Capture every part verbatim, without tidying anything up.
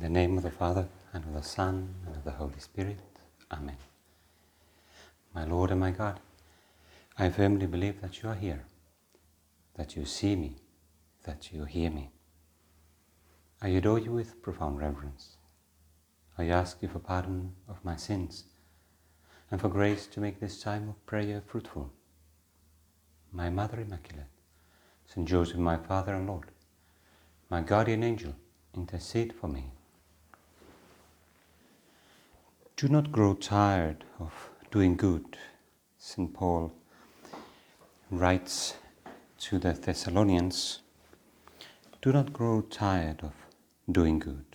the name of the Father, and of the Son, and of the Holy Spirit. Amen. My Lord and my God, I firmly believe that you are here, that you see me, that you hear me. I adore you with profound reverence. I ask you for pardon of my sins, and for grace to make this time of prayer fruitful. My Mother Immaculate, Saint Joseph, my Father and Lord, my guardian angel, intercede for me. Do not grow tired of doing good. Saint Paul writes to the Thessalonians, do not grow tired of doing good.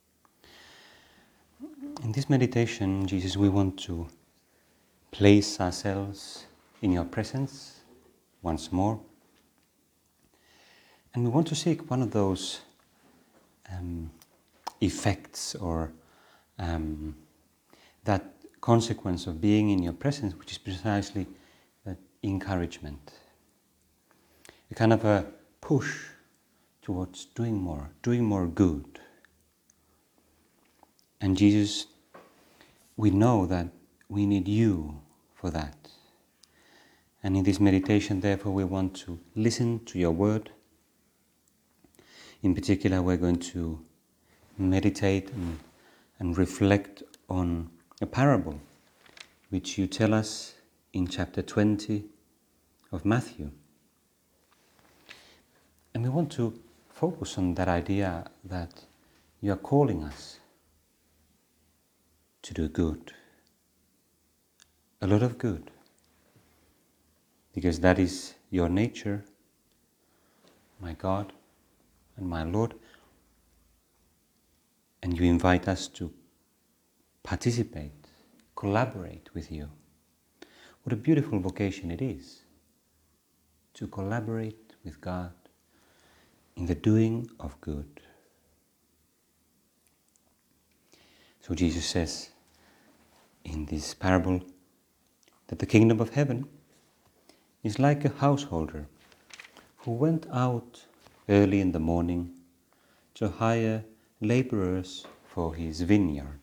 In this meditation, Jesus, we want to place ourselves in your presence once more. And we want to seek one of those um, effects or um, that consequence of being in your presence, which is precisely that encouragement. A kind of a push towards doing more, doing more good. And Jesus, we know that we need you for that. And in this meditation, therefore, we want to listen to your word. In particular, we're going to meditate and, and reflect on a parable which you tell us in chapter twenty of Matthew. And we want to focus on that idea that you are calling us to do good, a lot of good, because that is your nature, my God and my Lord, and you invite us to participate, collaborate with you. What a beautiful vocation it is to collaborate with God in the doing of good. So Jesus says in this parable that the kingdom of heaven is like a householder who went out early in the morning to hire laborers for his vineyard.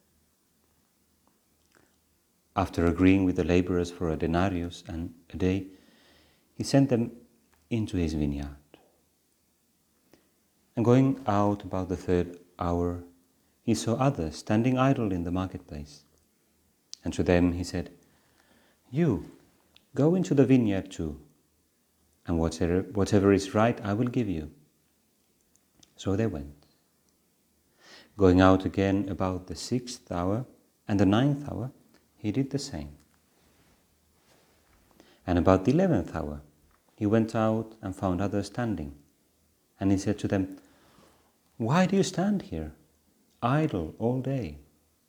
After agreeing with the laborers for a denarius and a day, he sent them into his vineyard. And going out about the third hour, he saw others standing idle in the marketplace. And to them he said, you, go into the vineyard too, and whatever, whatever is right I will give you. So they went. Going out again about the sixth hour and the ninth hour, he did the same. And about the eleventh hour, he went out and found others standing. And he said to them, why do you stand here, idle all day?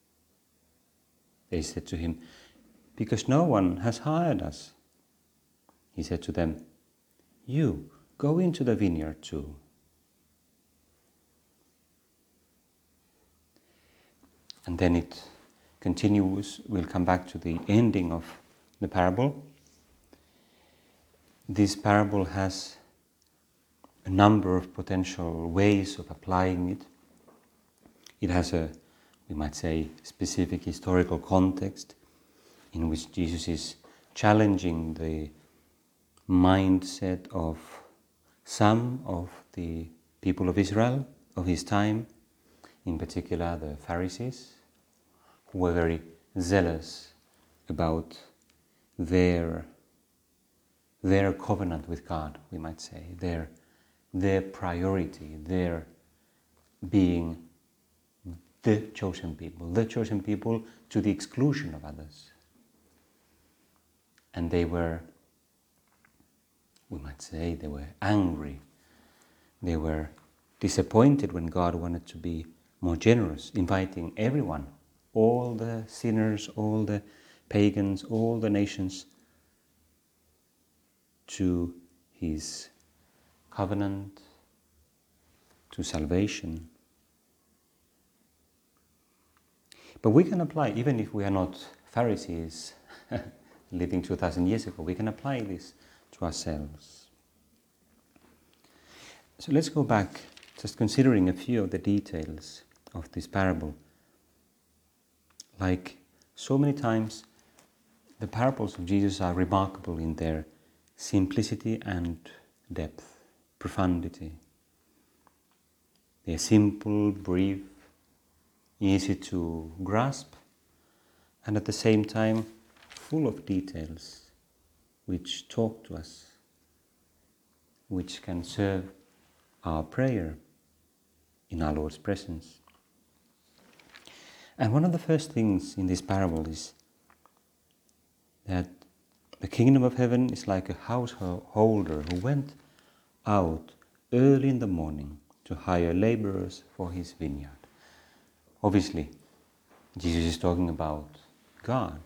They said to him, because no one has hired us. He said to them, you, go into the vineyard too. And then it continues. We'll come back to the ending of the parable. This parable has a number of potential ways of applying it. It has a, we might say, specific historical context in which Jesus is challenging the mindset of some of the people of Israel of his time, in particular the Pharisees, who were very zealous about their, their covenant with God, we might say, their, their priority, their being the chosen people, the chosen people to the exclusion of others. And they were, we might say, they were angry. They were disappointed when God wanted to be more generous, inviting everyone, all the sinners, all the pagans, all the nations, to his covenant, to salvation. But we can apply, even if we are not Pharisees living two thousand years ago, we can apply this to ourselves. So let's go back, just considering a few of the details of this parable. Like so many times, the parables of Jesus are remarkable in their simplicity and depth, profundity. They are simple, brief, easy to grasp, and at the same time full of details which talk to us, which can serve our prayer in our Lord's presence. And one of the first things in this parable is that the kingdom of heaven is like a householder who went out early in the morning to hire laborers for his vineyard. Obviously, Jesus is talking about God,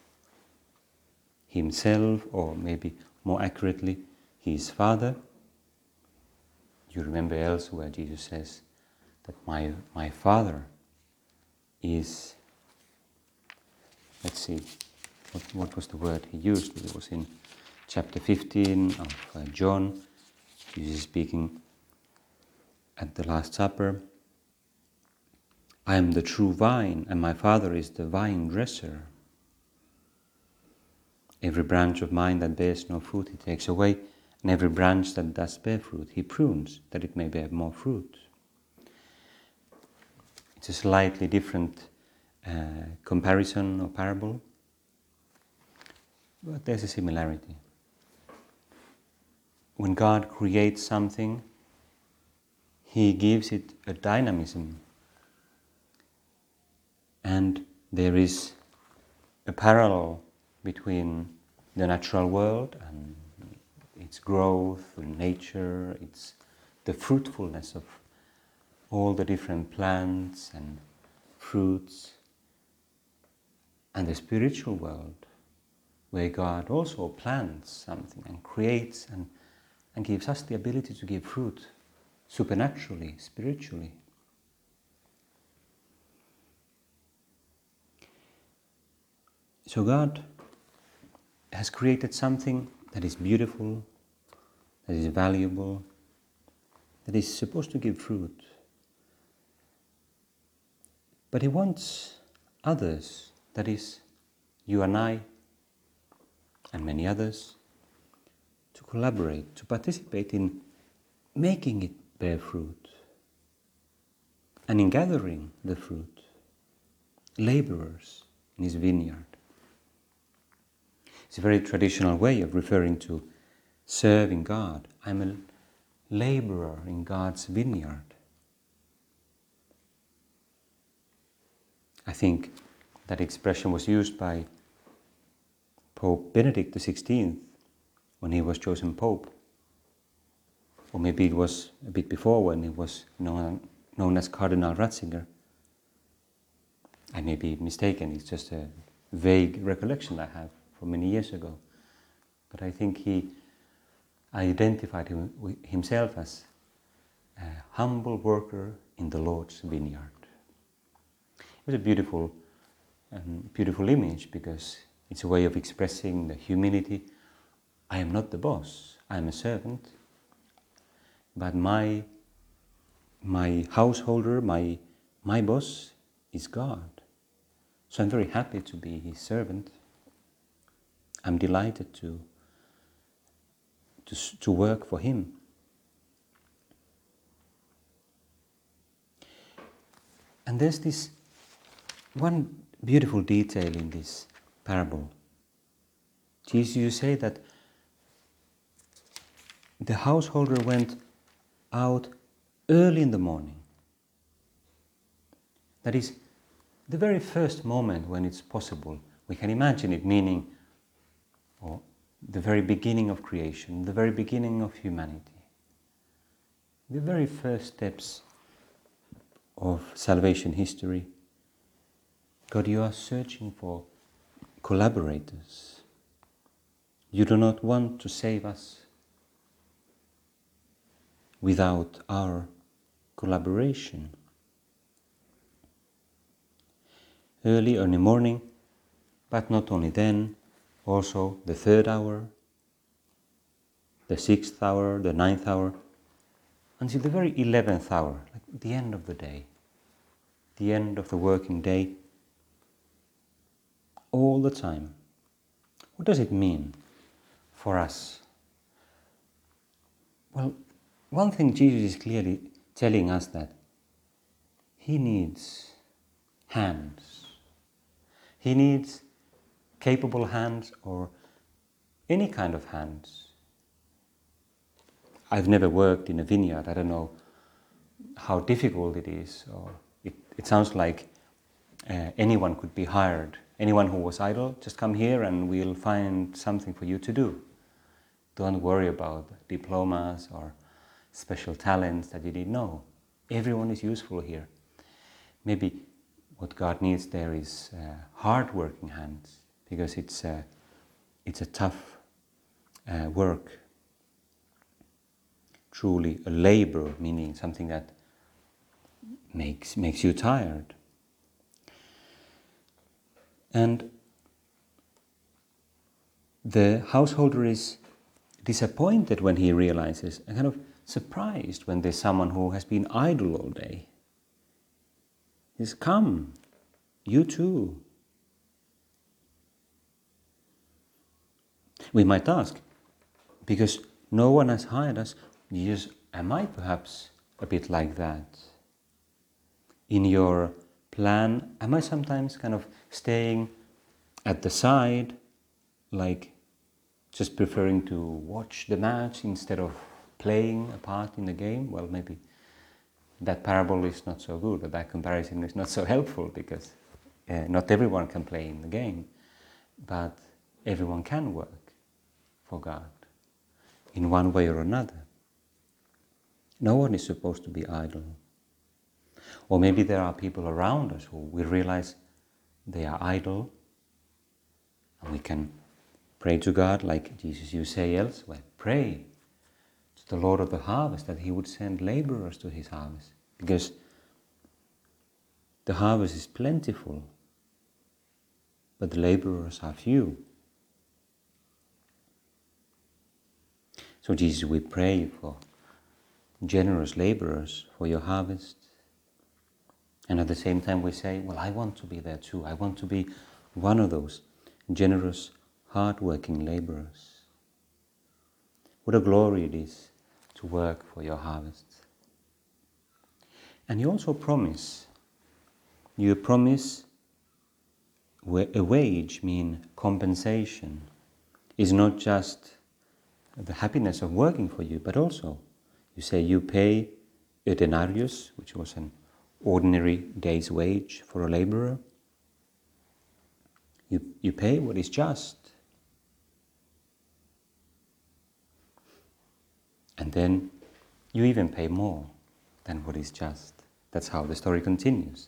himself, or maybe more accurately, his Father. You remember elsewhere Jesus says that my, my Father is, let's see, what, what was the word he used? It was in chapter fifteen of uh, John. Jesus is speaking at the Last Supper. I am the true vine, and my Father is the vine dresser. Every branch of mine that bears no fruit he takes away, and every branch that does bear fruit he prunes, that it may bear more fruit. It's a slightly different uh, comparison or parable, but there's a similarity. When God creates something, he gives it a dynamism, and there is a parallel between the natural world and its growth, nature, its the fruitfulness of all the different plants and fruits, and the spiritual world, where God also plants something and creates and, and gives us the ability to give fruit supernaturally, spiritually. So God has created something that is beautiful, that is valuable, that is supposed to give fruit. But he wants others, that is, you and I, and many others, to collaborate, to participate in making it bear fruit, and in gathering the fruit, laborers in his vineyard. It's a very traditional way of referring to serving God. I'm a laborer in God's vineyard. I think that expression was used by Pope Benedict the sixteenth when he was chosen Pope. Or maybe it was a bit before when he was known, known as Cardinal Ratzinger. I may be mistaken, it's just a vague recollection I have from many years ago. But I think he identified him, himself as a humble worker in the Lord's vineyard. It was a beautiful, um, beautiful image, because it's a way of expressing the humility. I am not the boss, I am a servant, but my, my householder, my, my boss is God. So I'm very happy to be his servant. I'm delighted to, to, to work for him. And there's this one beautiful detail in this parable. Jesus, you say that the householder went out early in the morning. That is the very first moment when it's possible. We can imagine it, meaning or the very beginning of creation, the very beginning of humanity. The very first steps of salvation history. God, you are searching for collaborators. You do not want to save us without our collaboration. Early in the morning, but not only then, also the third hour, the sixth hour, the ninth hour, until the very eleventh hour, like the end of the day. the end of the working day, all the time. What does it mean for us? Well, one thing Jesus is clearly telling us that He needs hands. He needs capable hands or any kind of hands. I've never worked in a vineyard. I don't know how difficult it is. Or it, it sounds like uh, anyone could be hired. Anyone who was idle, just come here and we'll find something for you to do. Don't worry about diplomas or special talents that you didn't know. Everyone is useful here. Maybe what God needs there is uh, hard-working hands, because it's a, it's a tough uh, work. Truly a labor, meaning something that makes makes you tired. And the householder is disappointed when he realizes, and kind of surprised when there's someone who has been idle all day. He says, come, you too. We might ask, because no one has hired us, Jesus, am I perhaps a bit like that? In your plan, am I sometimes kind of staying at the side, like just preferring to watch the match instead of playing a part in the game? Well, maybe that parable is not so good, or that comparison is not so helpful, because uh, not everyone can play in the game, but everyone can work for God in one way or another. No one is supposed to be idle. Or maybe there are people around us who we realize they are idle, and we can pray to God, like Jesus, you say elsewhere, pray to the Lord of the harvest that He would send laborers to His harvest, because the harvest is plentiful, but the laborers are few. So Jesus, we pray for generous laborers for your harvest. And at the same time we say, well, I want to be there too. I want to be one of those generous, hard-working laborers. What a glory it is to work for your harvest. And you also promise, you promise a wage, mean compensation, is not just the happiness of working for you, but also you say you pay a denarius, which was an ordinary day's wage for a laborer. You, you pay what is just. And then you even pay more than what is just. That's how the story continues.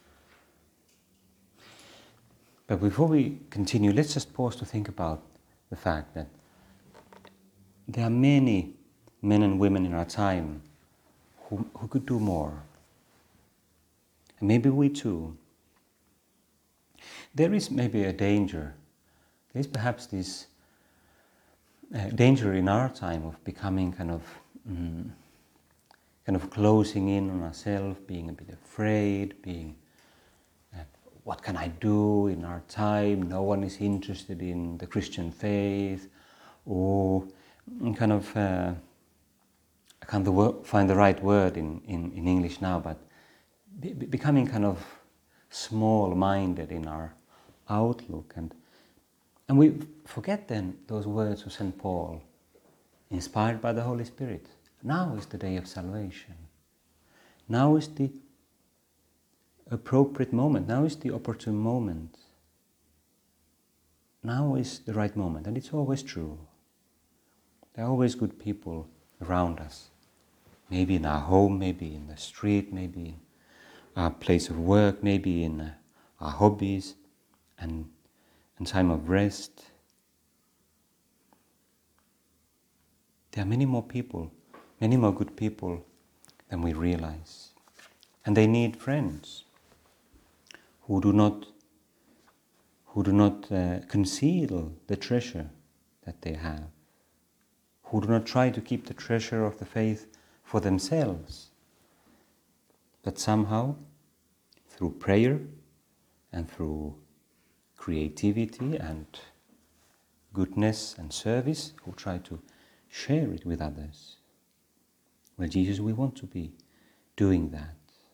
But before we continue, let's just pause to think about the fact that there are many men and women in our time who, who could do more. And maybe we too. There is maybe a danger. There is perhaps this uh, danger in our time of becoming kind of mm, kind of closing in on ourselves, being a bit afraid, being uh, what can I do in our time? No one is interested in the Christian faith, or kind of uh, I can't the word, find the right word in, in, in English now, but be, becoming kind of small-minded in our outlook, and and we forget then those words of Saint Paul, inspired by the Holy Spirit. Now is the day of salvation. Now is the appropriate moment. Now is the opportune moment. Now is the right moment, and it's always true. There are always good people around us. Maybe in our home, maybe in the street, maybe in our place of work, maybe in uh, our hobbies and, and time of rest. There are many more people, many more good people than we realize. And they need friends who do not, who do not uh, conceal the treasure that they have, who do not try to keep the treasure of the faith for themselves, but somehow, through prayer and through creativity and goodness and service, who try to share it with others. Well, Jesus, we want to be doing that.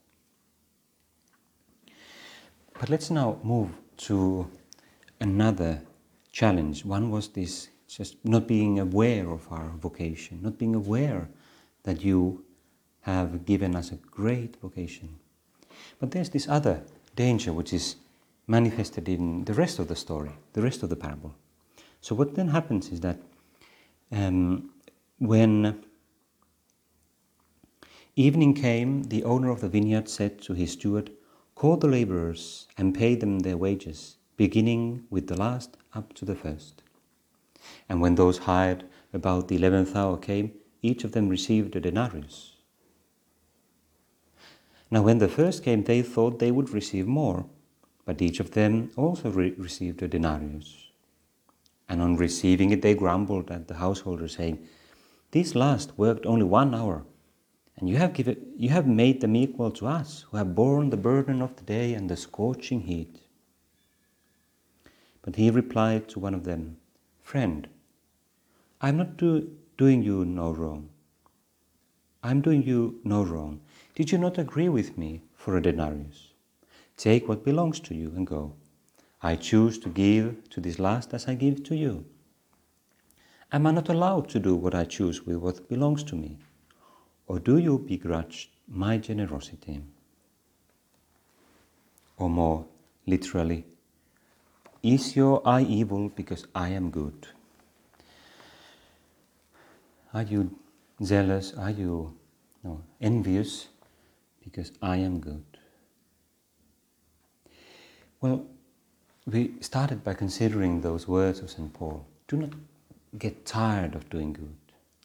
But let's now move to another challenge. One was this, just not being aware of our vocation, not being aware that you have given us a great vocation. But there's this other danger which is manifested in the rest of the story, the rest of the parable. So what then happens is that um, when evening came, the owner of the vineyard said to his steward, "Call the laborers and pay them their wages, beginning with the last up to the first." And when those hired about the eleventh hour came, each of them received a denarius. Now when the first came, they thought they would receive more, but each of them also re- received a denarius. And on receiving it, they grumbled at the householder, saying, "These last worked only one hour, and you have given, you have made them equal to us, who have borne the burden of the day and the scorching heat." But he replied to one of them, "Friend, I am not do, doing you no wrong. I am doing you no wrong. Did you not agree with me for a denarius? Take what belongs to you and go. I choose to give to this last as I give to you. Am I not allowed to do what I choose with what belongs to me? Or do you begrudge my generosity?" Or more literally, "Is your eye evil because I am good? Are you jealous? Are you no, envious because I am good?" Well, we started by considering those words of Saint Paul. Do not get tired of doing good.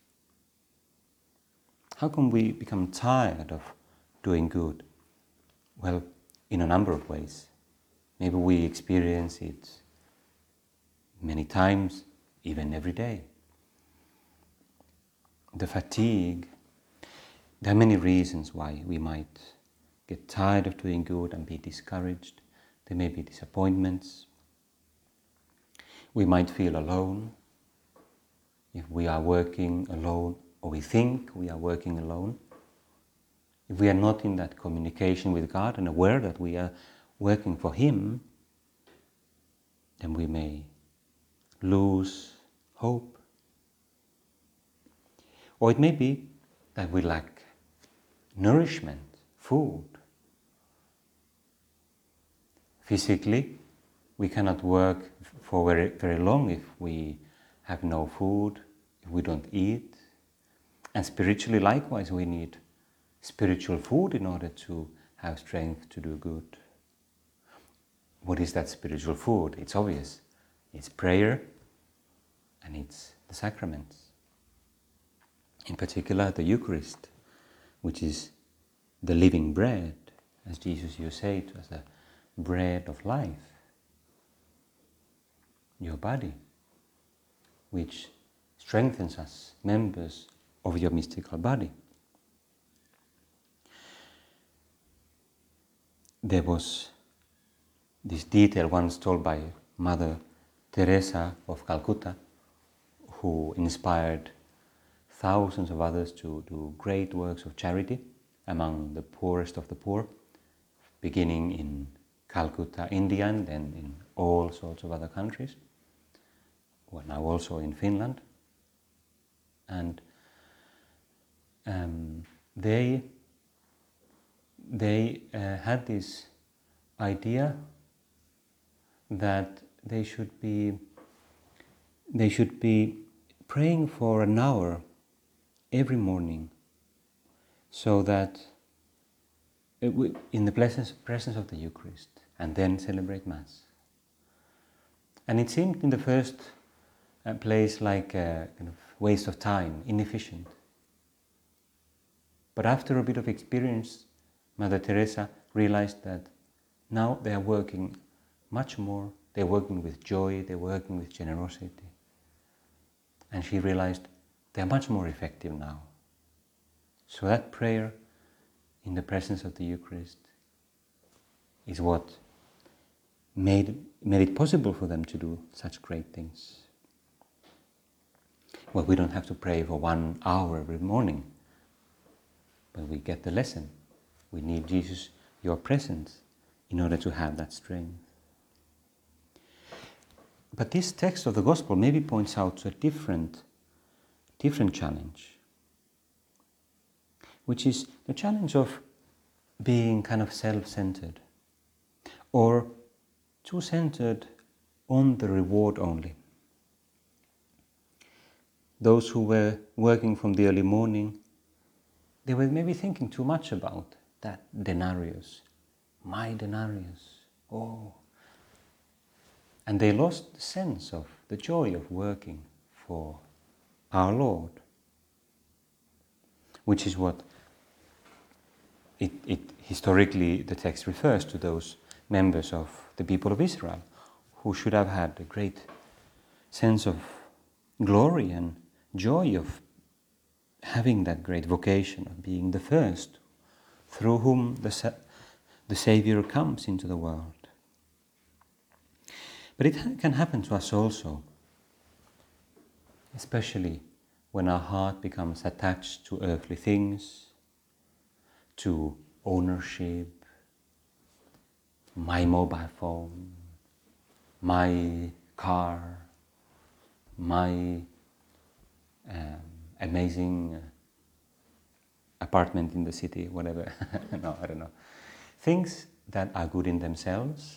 How can we become tired of doing good? Well, in a number of ways. Maybe we experience it many times, even every day. The fatigue. There are many reasons why we might get tired of doing good and be discouraged. There may be disappointments. We might feel alone if we are working alone, or we think we are working alone. If we are not in that communication with God and aware that we are working for Him, then we may lose hope. Or it may be that we lack nourishment, food. Physically, we cannot work for very, very long if we have no food, if we don't eat. And spiritually, likewise, we need spiritual food in order to have strength to do good. What is that spiritual food? It's obvious. It's prayer and it's the sacraments. In particular, the Eucharist, which is the living bread, as Jesus used to say, it was the bread of life. Your body, which strengthens us, members of your mystical body. There was this detail once told by Mother Teresa of Calcutta, who inspired thousands of others to do great works of charity among the poorest of the poor, beginning in Calcutta, India, and then in all sorts of other countries. Well, now also in Finland. And um, they they uh, had this idea that they should be they should be praying for an hour every morning, so that it w- in the presence presence of the Eucharist, and then celebrate Mass. And it seemed in the first uh, place like a kind of waste of time, inefficient. But after a bit of experience, Mother Teresa realized that now they are working much more, they're working with joy, they're working with generosity. And she realized they are much more effective now. So that prayer in the presence of the Eucharist is what made, made it possible for them to do such great things. Well, we don't have to pray for one hour every morning, but we get the lesson. We need Jesus, your presence, in order to have that strength. But this text of the Gospel maybe points out to a different, different challenge, which is the challenge of being kind of self-centered, or too centered on the reward only. Those who were working from the early morning, they were maybe thinking too much about that denarius, my denarius, oh. And they lost the sense of the joy of working for our Lord, which is what it, it historically the text refers to, those members of the people of Israel who should have had a great sense of glory and joy of having that great vocation of being the first through whom the, Sa- the Savior comes into the world. But it ha- can happen to us also, especially when our heart becomes attached to earthly things, to ownership, my mobile phone, my car, my um, amazing uh, apartment in the city, whatever. No, I don't know. Things that are good in themselves,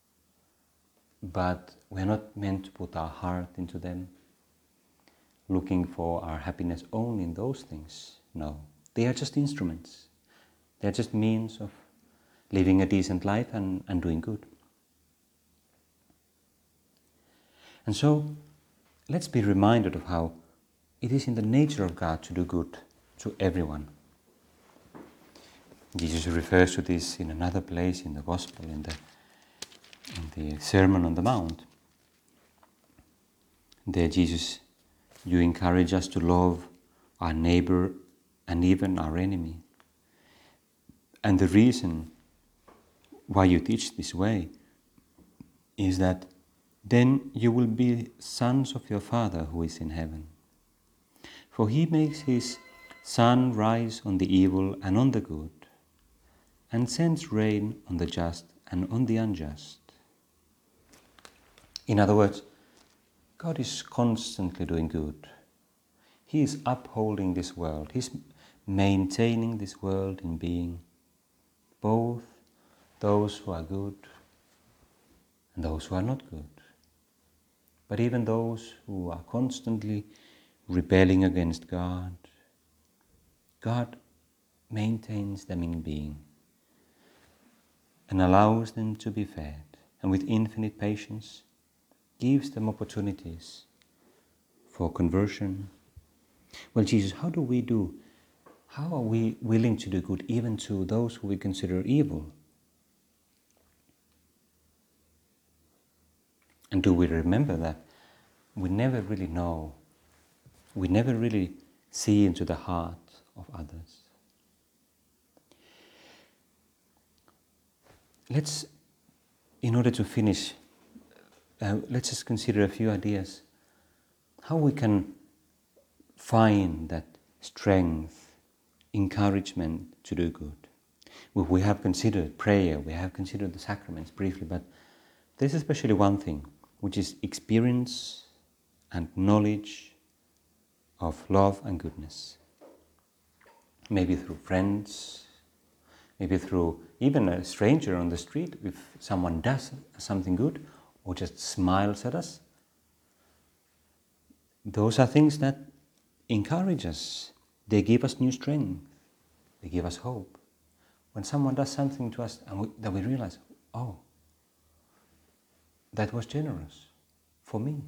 but we're not meant to put our heart into them, looking for our happiness only in those things. No, they are just instruments. They're just means of living a decent life and, and doing good. And so, let's be reminded of how it is in the nature of God to do good to everyone. Jesus refers to this in another place in the Gospel, in the, in the Sermon on the Mount. There Jesus, you encourage us to love our neighbor and even our enemy. And the reason why you teach this way is that then you will be sons of your Father who is in heaven. For he makes his sun rise on the evil and on the good, and sends rain on the just and on the unjust. In other words, God is constantly doing good. He is upholding this world. He's maintaining this world in being, both those who are good and those who are not good. But even those who are constantly rebelling against God, God maintains them in being and allows them to be fed, and with infinite patience gives them opportunities for conversion. Well, Jesus, how do we do? How are we willing to do good even to those who we consider evil? And do we remember that we never really know, we never really see into the heart of others? Let's, in order to finish, uh, let's just consider a few ideas how we can find that strength, encouragement to do good. We, we have considered prayer, we have considered the sacraments briefly, but there's especially one thing, which is experience and knowledge of love and goodness. Maybe through friends, maybe through even a stranger on the street, if someone does something good or just smiles at us. Those are things that encourage us. They give us new strength. They give us hope. When someone does something to us and we, that we realize, oh, that was generous for me.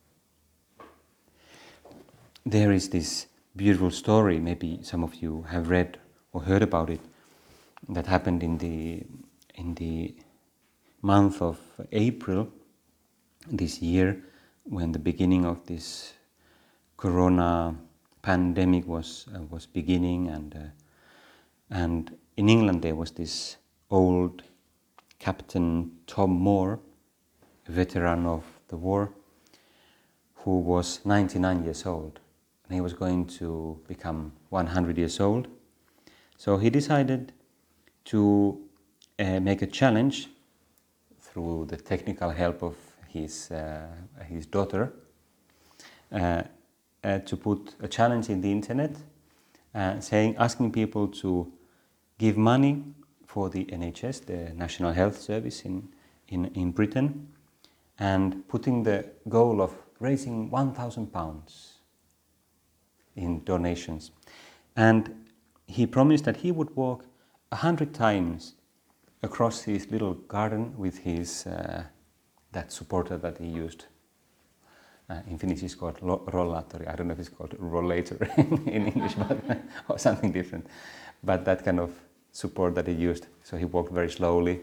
There is this beautiful story, maybe some of you have read or heard about it, that happened in the in the month of April this year, when the beginning of this corona pandemic was uh, was beginning, and uh, and in England there was this old Captain Tom Moore, a veteran of the war, who was ninety-nine years old, and he was going to become one hundred years old. So he decided to uh, make a challenge through the technical help of his, uh, his daughter, uh, uh, to put a challenge in the internet, uh, saying, asking people to give money for the N H S, the National Health Service in, in, in Britain, and putting the goal of raising one thousand pounds in donations. And he promised that he would walk a hundred times across his little garden with his, uh, that supporter that he used. Uh, in Finnish it's called rollaattori. I don't know if it's called rollator in, in English, but or something different. But that kind of support that he used. So he walked very slowly.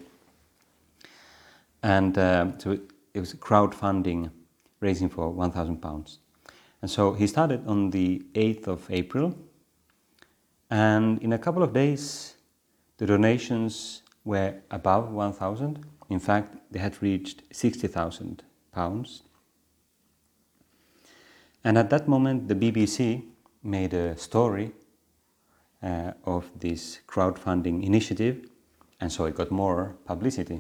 And uh, so it was crowdfunding, raising for one thousand pounds. And so he started on the eighth of April. And in a couple of days, the donations were above one thousand. In fact, they had reached sixty thousand pounds. And at that moment, the B B C made a story uh, of this crowdfunding initiative, and so it got more publicity.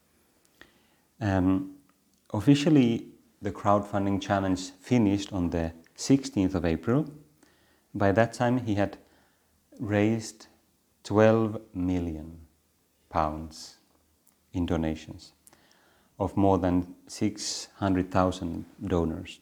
Um, officially, the crowdfunding challenge finished on the sixteenth of April. By that time, he had raised twelve million pounds in donations of more than six hundred thousand donors.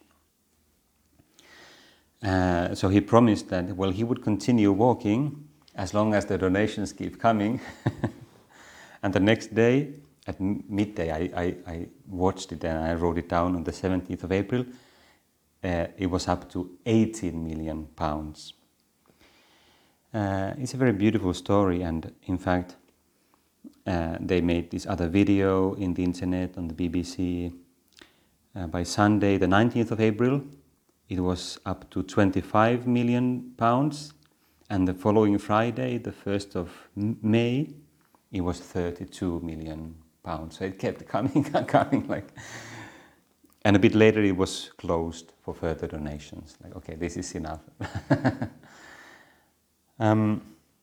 Uh, so he promised that, well, he would continue walking as long as the donations keep coming. And the next day, at midday, I, I, I watched it and I wrote it down on the seventeenth of April. Uh, it was up to eighteen million pounds. Uh, it's a very beautiful story, and in fact, uh, they made this other video in the internet on the B B C. Uh, by Sunday, the nineteenth of April, it was up to twenty-five million pounds, and the following Friday, the first of May, it was thirty-two million pounds. So it kept coming and coming, like, and a bit later it was closed for further donations. Like, okay, this is enough. um,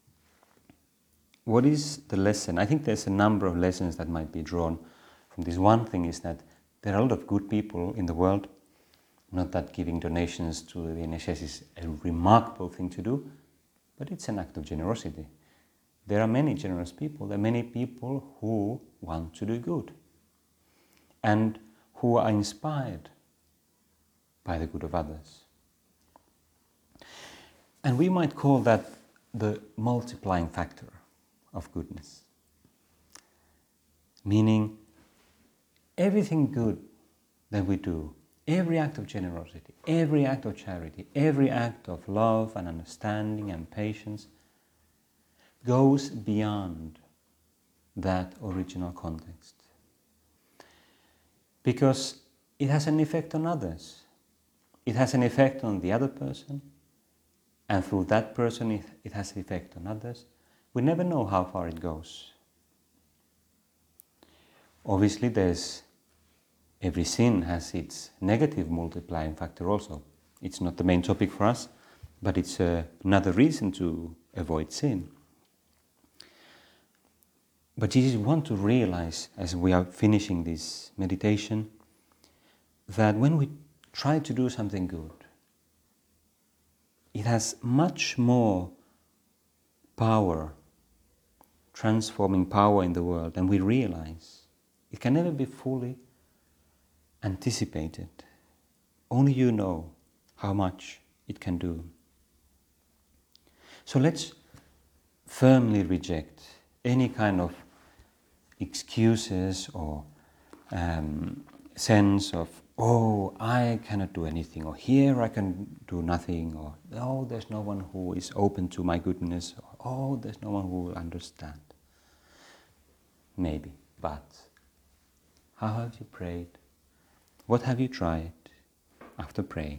what is the lesson? I think there's a number of lessons that might be drawn from this. One thing is that there are a lot of good people in the world. Not that giving donations to the N H S is a remarkable thing to do, but it's an act of generosity. There are many generous people. There are many people who want to do good and who are inspired by the good of others. And we might call that the multiplying factor of goodness. Meaning, everything good that we do, every act of generosity, every act of charity, every act of love and understanding and patience goes beyond that original context. Because it has an effect on others. It has an effect on the other person, and through that person it, it has an effect on others. We never know how far it goes. Obviously, there's every sin has its negative multiplying factor also. It's not the main topic for us, but it's uh, another reason to avoid sin. But Jesus wants to realize, as we are finishing this meditation, that when we try to do something good, it has much more power, transforming power in the world than we realize. It can never be fully anticipated. Only you know how much it can do. So let's firmly reject any kind of excuses or um, sense of, oh, I cannot do anything, or here I can do nothing, or oh, there's no one who is open to my goodness, or oh, there's no one who will understand. Maybe, but how have you prayed? What have you tried after praying?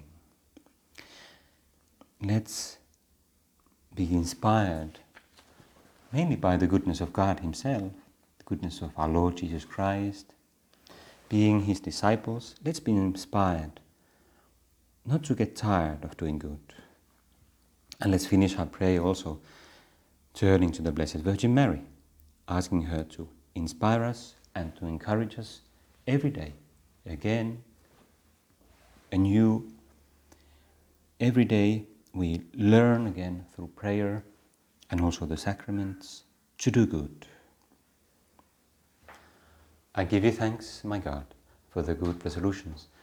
Let's be inspired mainly by the goodness of God Himself, goodness of our Lord Jesus Christ. Being His disciples, let's be inspired not to get tired of doing good. And let's finish our prayer also turning to the Blessed Virgin Mary, asking her to inspire us and to encourage us every day, again, anew. Every day we learn again through prayer and also the sacraments to do good. I give you thanks, my God, for the good resolutions